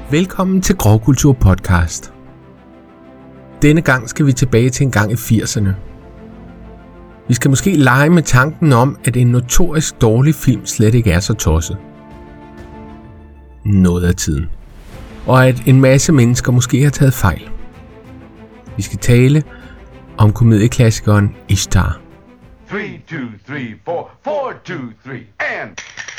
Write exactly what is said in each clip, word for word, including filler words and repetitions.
Velkommen til Grovkultur Podcast. Denne gang skal vi tilbage til en gang i firserne. Vi skal måske lege med tanken om, at en notorisk dårlig film slet ikke er så tosset. Noget af tiden. Og at en masse mennesker måske har taget fejl. Vi skal tale om komedieklassikeren Ishtar. Three, two, three, four, four, two, three, and...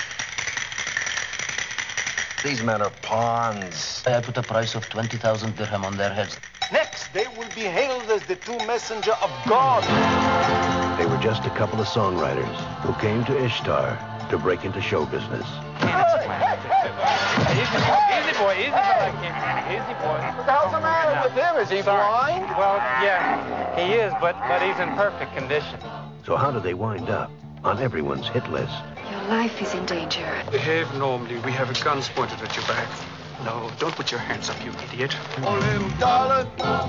These men are pawns. I put a price of twenty thousand dirham on their heads. Next, they will be hailed as the true messenger of God. They were just a couple of songwriters who came to Ishtar to break into show business. Easy boy, easy boy, easy boy. What the hell's the matter with him? Is he blind? Well, yeah, he is, but but he's in perfect condition. So how do they wind up on everyone's hit list? Your life is in danger. Behave normally. We have guns pointed at your back. No, don't put your hands up, you idiot. Oh, little darling.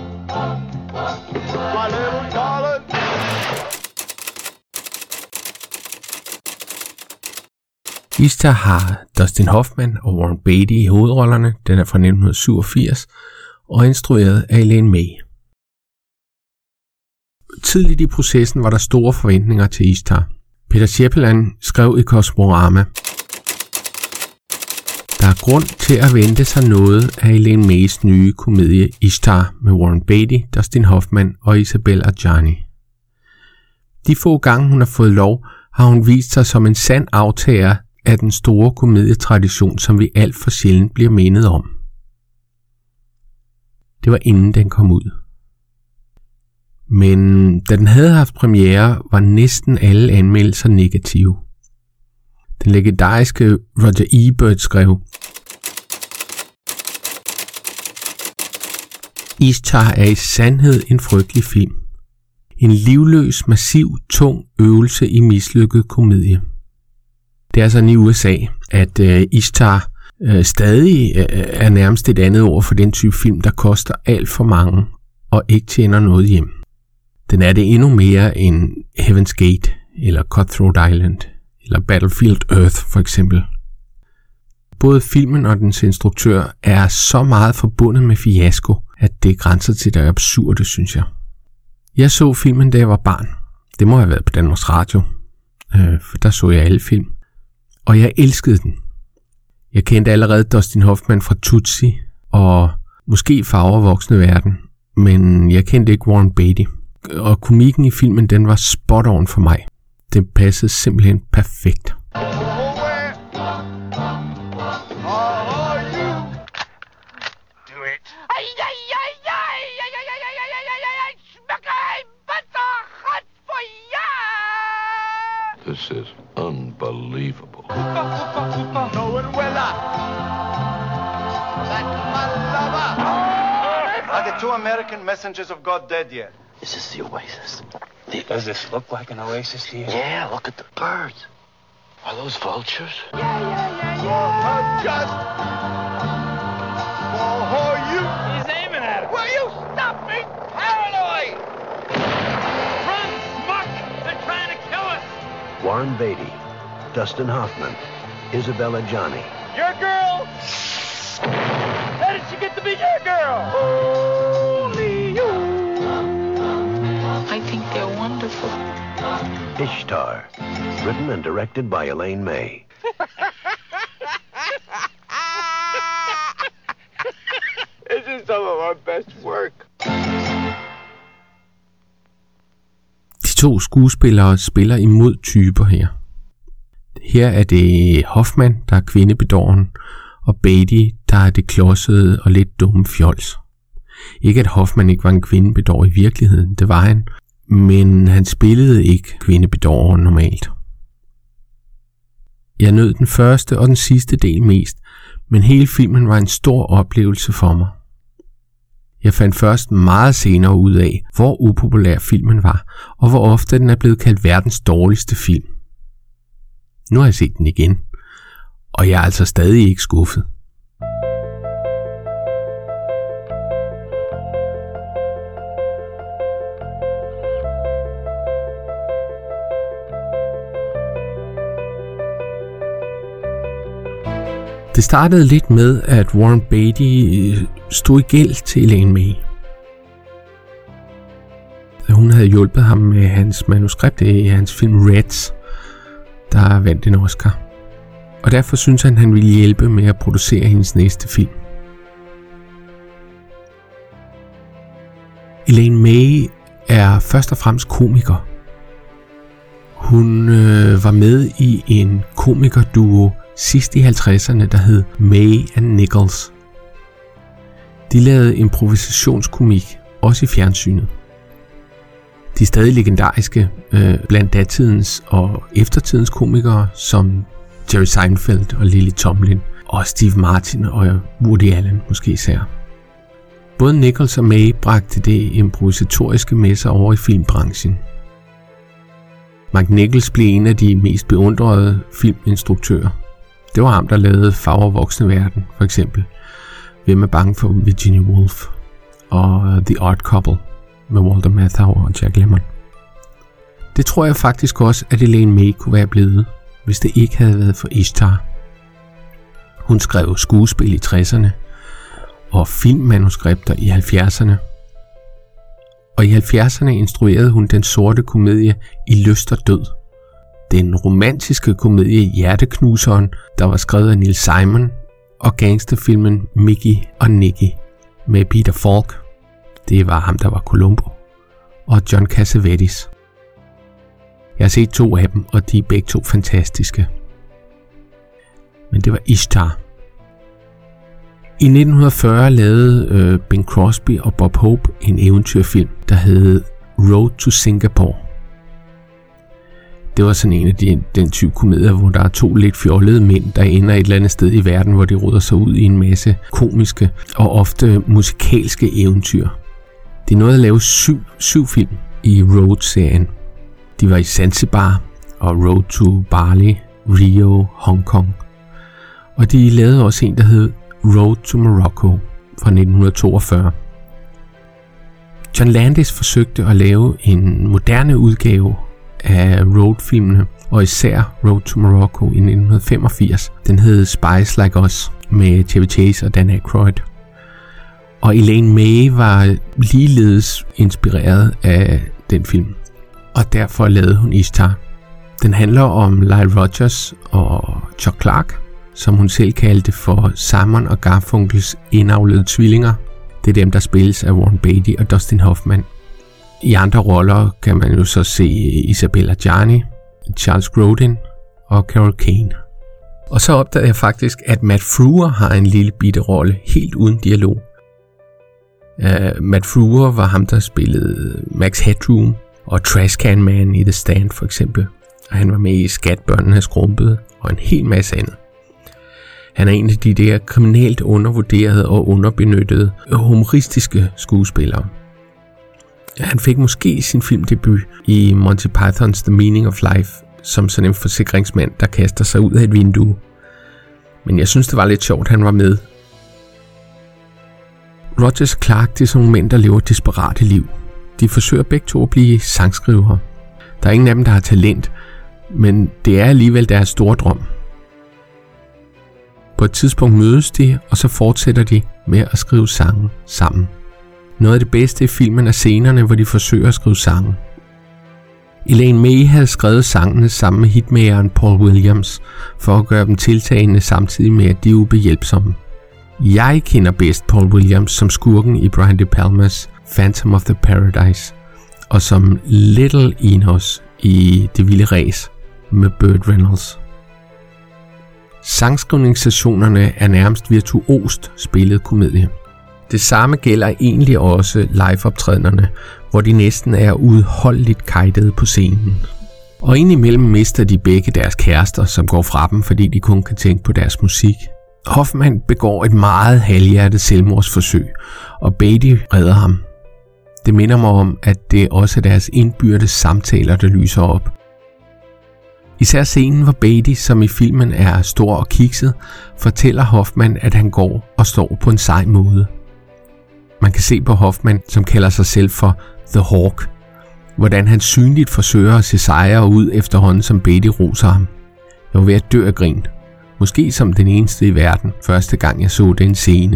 My little darling. Ishtar har Dustin Hoffman og Warren Beatty i hovedrollerne. Den er fra nitten syvogfirs og instrueret af Elaine May. Tidligt i processen var der store forventninger til Ishtar. Peter Shepard skrev i Kosmorama: Der er grund til at vente sig noget af Elaine Mays nye komedie Ishtar med Warren Beatty, Dustin Hoffman og Isabelle Adjani. De få gange hun har fået lov, har hun vist sig som en sand aftager af den store komedietradition, som vi alt for sjældent bliver mindet om. Det var inden den kom ud. Men da den havde haft premiere, var næsten alle anmeldelser negative. Den legendariske Roger Ebert skrev: Ishtar er i sandhed en frygtelig film. En livløs, massiv, tung øvelse i mislykket komedie. Det er sådan i U S A, at uh, Ishtar uh, stadig uh, er nærmest et andet ord for den type film, der koster alt for mange og ikke tjener noget hjem. Den er det endnu mere end Heaven's Gate, eller Cutthroat Island, eller Battlefield Earth for eksempel. Både filmen og dens instruktør er så meget forbundet med fiasko, at det grænser til det absurde, synes jeg. Jeg så filmen, da jeg var barn. Det må have været på Danmarks Radio, øh, for der så jeg alle film. Og jeg elskede den. Jeg kendte allerede Dustin Hoffman fra Tootsie, og måske Farver voksne verden, men jeg kendte ikke Warren Beatty. Og komikken i filmen, den var spot on for mig. Den passede simpelthen perfekt. This is unbelievable. Are the two American messengers of God dead yet? This is the oasis. Does this look like an oasis to you? Yeah, look at the birds. Are those vultures? Just for you. He's aiming at it. Will you stop being paranoid? Run, Smuck! They're trying to kill us. Warren Beatty, Dustin Hoffman, Isabelle Adjani. Your girl? How did she get to be your girl? Only you. I think they're wonderful. Ishtar, written and directed by Elaine May. This is some of our best work. De to skuespillere spiller imod typer her. Her er det Hoffman, der er kvindebedåren, og Beatty, der er det klodsede og lidt dumme fjols. Ikke at Hoffman ikke var en kvindebedår i virkeligheden, det var han, men han spillede ikke kvindebedåren normalt. Jeg nød den første og den sidste del mest, men hele filmen var en stor oplevelse for mig. Jeg fandt først meget senere ud af, hvor upopulær filmen var, og hvor ofte den er blevet kaldt verdens dårligste film. Nu har jeg set den igen, og jeg er altså stadig ikke skuffet. Det startede lidt med, at Warren Beatty stod i gæld til Elaine May. Hun havde hjulpet ham med hans manuskript i hans film Reds, der vandt en Oscar. Og derfor synes han, at han ville hjælpe med at producere hendes næste film. Elaine May er først og fremmest komiker. Hun øh, var med i en komikerduo sidst i halvtredserne, der hed May and Nichols. De lavede improvisationskomik, også i fjernsynet. De er stadig legendariske øh, blandt datidens og eftertidens komikere, som Jerry Seinfeld og Lily Tomlin, og Steve Martin og Woody Allen måske især. Både Nichols og May bragte det improvisatoriske med sig over i filmbranchen. Mark Nichols blev en af de mest beundrede filminstruktører. Det var ham, der lavede Fagre voksne verden, for eksempel. Hvem er bange for Virginia Woolf? Og The Odd Couple med Walter Matthau og Jack Lemmon. Det tror jeg faktisk også, at Elaine May kunne være blevet, hvis det ikke havde været for Ishtar. Hun skrev skuespil i tresserne og filmmanuskripter i halvfjerdserne. Og i halvfjerdserne instruerede hun den sorte komedie I lyst og død. Den romantiske komedie Hjerteknuseren, der var skrevet af Neil Simon, og gangsterfilmen Mickey og Nicky med Peter Falk. Det var ham, der var Columbo. Og John Cassavetes. Jeg har set to af dem, og de er begge to fantastiske. Men det var Ishtar. I nitten fyrre lavede øh, Bing Crosby og Bob Hope en eventyrfilm, der hed Road to Singapore. Det var sådan en af de, den type komedier, hvor der er to lidt fjollede mænd, der ender et eller andet sted i verden, hvor de ruder sig ud i en masse komiske og ofte musikalske eventyr. De nåede at lave syv, syv film i Road-serien. De var i Zanzibar og Road to Bali, Rio, Hong Kong. Og de lavede også en, der hed Road to Morocco fra nitten toogfyrre. John Landis forsøgte at lave en moderne udgave af Road-filmene, og især Road to Morocco i nitten femogfirs. Den hed Spies Like Us med Chevy Chase og Dan Aykroyd. Og Elaine May var ligeledes inspireret af den film, og derfor lavede hun Ishtar. Den handler om Lyle Rogers og Chuck Clark, som hun selv kaldte for Simon og Garfunkels indavlede tvillinger. Det er dem, der spilles af Warren Beatty og Dustin Hoffman. I andre roller kan man jo så se Isabella Gianni, Charles Grodin og Carol Kane. Og så opdagede jeg faktisk, at Matt Frewer har en lille bitte rolle, helt uden dialog. Uh, Matt Frewer var ham, der spillede Max Headroom og Trashcan Man i The Stand for eksempel. Og han var med i Skat, børnene er skrumpet og en hel masse andet. Han er en af de der kriminelt undervurderede og underbenyttede humoristiske skuespillere. Han fik måske sin filmdebut i Monty Python's The Meaning of Life som sådan en forsikringsmand, der kaster sig ud af et vindue. Men jeg synes, det var lidt sjovt, han var med. Rogers og Clark, det er sådan nogle mænd, der lever desperate liv. De forsøger begge to at blive sangskrivere. Der er ingen af dem, der har talent, men det er alligevel deres store drøm. På et tidspunkt mødes de, og så fortsætter de med at skrive sange sammen. Noget af det bedste i filmen er scenerne, hvor de forsøger at skrive sange. Elaine May havde skrevet sangene sammen med hitmakeren Paul Williams, for at gøre dem tiltagende samtidig med, at de er ubehjælpsomme. Jeg kender bedst Paul Williams som skurken i Brian De Palmas Phantom of the Paradise, og som Little Enos i Det vilde ræs med Burt Reynolds. Sangskrivningssessionerne er nærmest virtuost spillet komedie. Det samme gælder egentlig også liveoptræderne, hvor de næsten er udholdeligt kajtede på scenen. Og indimellem mister de begge deres kærester, som går fra dem, fordi de kun kan tænke på deres musik. Hoffman begår et meget halvhjertet selvmordsforsøg, og Beatty redder ham. Det minder mig om, at det også er deres indbyrdes samtaler, der lyser op. Især scenen, hvor Beatty, som i filmen er stor og kikset, fortæller Hoffman, at han går og står på en sej måde. Man kan se på Hoffman, som kalder sig selv for The Hawk, hvordan han synligt forsøger at se sejre ud efterhånden, som Beatty roser ham. Jeg var ved at dø af grin. Måske som den eneste i verden, første gang jeg så den scene.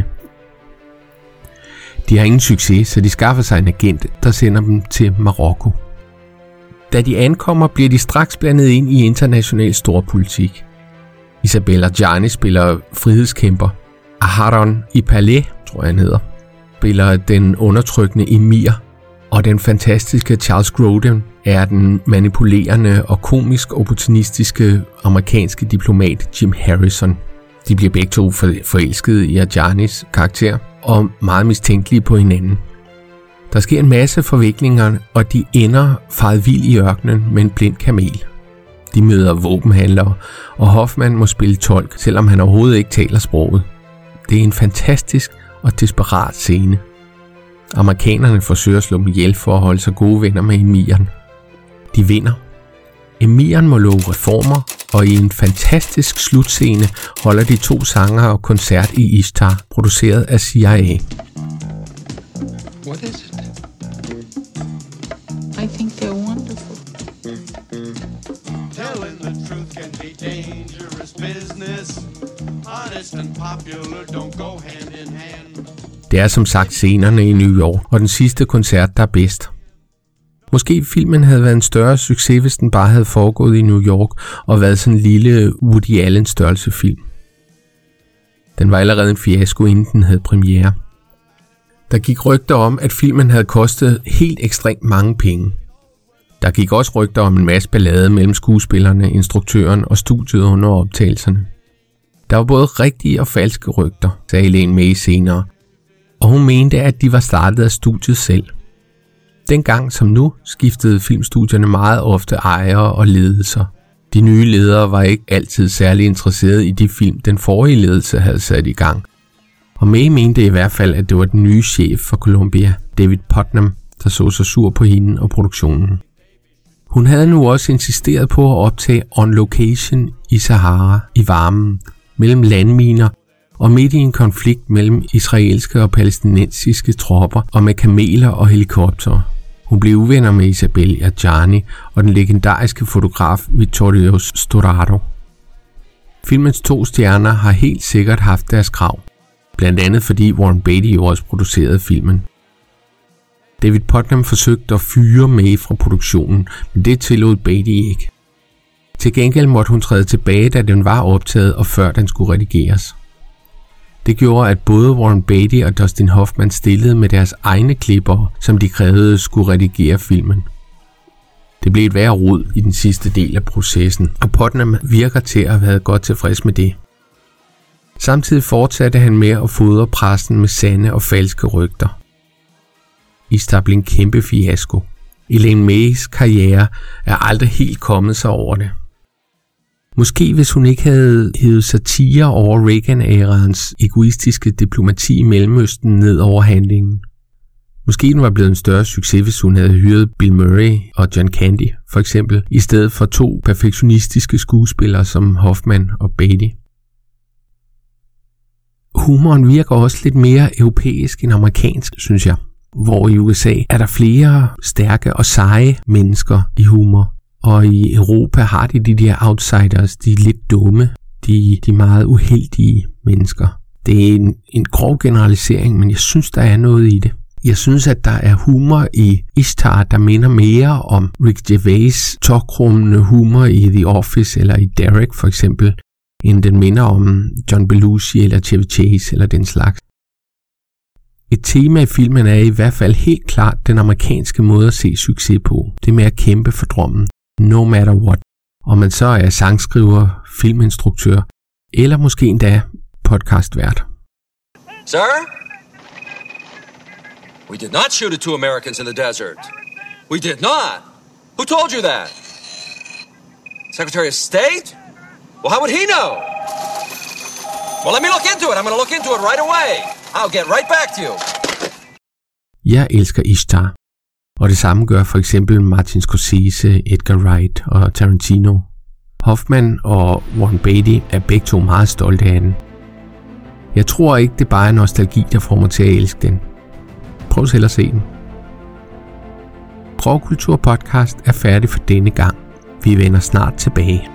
De har ingen succes, så de skaffer sig en agent, der sender dem til Marokko. Da de ankommer, bliver de straks blandet ind i international storpolitik. Isabelle Adjani spiller frihedskæmper. Aharon Ipalé, tror jeg han hedder, spiller den undertrykkende emir. Og den fantastiske Charles Grodin er den manipulerende og komisk opportunistiske amerikanske diplomat Jim Harrison. De bliver begge to forelskede i Adjanis karakter og meget mistænkelige på hinanden. Der sker en masse forviklinger, og de ender faret vild i ørkenen med en blind kamel. De møder våbenhandlere, og Hoffman må spille tolk, selvom han overhovedet ikke taler sproget. Det er en fantastisk og desperat scene. Amerikanerne forsøger at slå dem ihjel for at holde sig gode venner med emiren. De vinder. Emiren må love reformer, og i en fantastisk slutscene holder de to sangere og koncert i Ishtar, produceret af C I A. What is it? I think they're wonderful. Telling the truth can be dangerous business. Honest and popular don't go hand in hand. Det er som sagt scenerne i New York, og den sidste koncert, der er bedst. Måske filmen havde været en større succes, hvis den bare havde foregået i New York og været sådan en lille Woody Allen størrelse film. Den var allerede en fiasko, inden den havde premiere. Der gik rygter om, at filmen havde kostet helt ekstremt mange penge. Der gik også rygter om en masse ballade mellem skuespillerne, instruktøren og studiet under optagelserne. Der var både rigtige og falske rygter, sagde Elaine May senere, og hun mente, at de var startet af studiet selv. Dengang som nu skiftede filmstudierne meget ofte ejere og ledelser. De nye ledere var ikke altid særlig interesserede i de film, den forrige ledelse havde sat i gang. Og May mente i hvert fald, at det var den nye chef for Columbia, David Putnam, der så sig sur på hende og produktionen. Hun havde nu også insisteret på at optage on location i Sahara i varmen, mellem landminer og midt i en konflikt mellem israelske og palæstinensiske tropper og med kameler og helikoptere. Hun blev uvenner med Isabelle Adjani og den legendariske fotograf Vittorio Storaro. Filmens to stjerner har helt sikkert haft deres krav, blandt andet fordi Warren Beatty jo også producerede filmen. David Putnam forsøgte at fyre May fra produktionen, men det tillod Beatty ikke. Til gengæld måtte hun træde tilbage, da den var optaget og før den skulle redigeres. Det gjorde, at både Warren Beatty og Dustin Hoffman stillede med deres egne klipper, som de krævede skulle redigere filmen. Det blev et værre rod i den sidste del af processen, og Putnam virker til at have været godt tilfreds med det. Samtidig fortsatte han med at fodre pressen med sande og falske rygter. Ishtar blev en kæmpe fiasko. Elaine Mays karriere er aldrig helt kommet sig over det. Måske hvis hun ikke havde hævet satire over Reagan-æraens egoistiske diplomati i Mellemøsten ned over handlingen. Måske den var blevet en større succes, hvis hun havde hyret Bill Murray og John Candy, for eksempel, i stedet for to perfektionistiske skuespillere som Hoffman og Beatty. Humoren virker også lidt mere europæisk end amerikansk, synes jeg. Hvor i U S A er der flere stærke og seje mennesker i humor. Og i Europa har de de der outsiders, de lidt dumme, de, de meget uheldige mennesker. Det er en, en grov generalisering, men jeg synes, der er noget i det. Jeg synes, at der er humor i Ishtar, der minder mere om Rick Gervais' tokrummende humor i The Office eller i Derek for eksempel, end den minder om John Belushi eller Chevy Chase eller den slags. Et tema i filmen er i hvert fald helt klart den amerikanske måde at se succes på. Det med at kæmpe for drømmen. No matter what. Om man så er sangskriver, filminstruktør eller måske endda podcastvært. Sir? We did not shoot at two Americans in the desert. We did not. Who told you that? Secretary of State? Well, how would he know? Well, let me look into it. I'm going to look into it right away. I'll get right back to you. Jeg elsker Ishtar. Og det samme gør for eksempel Martin Scorsese, Edgar Wright og Tarantino. Hoffman og Warren Beatty er begge to meget stolte af den. Jeg tror ikke, det bare er nostalgi, der får mig til at elske den. Prøv selv at se den. Prøvkultur podcast er færdig for denne gang. Vi vender snart tilbage.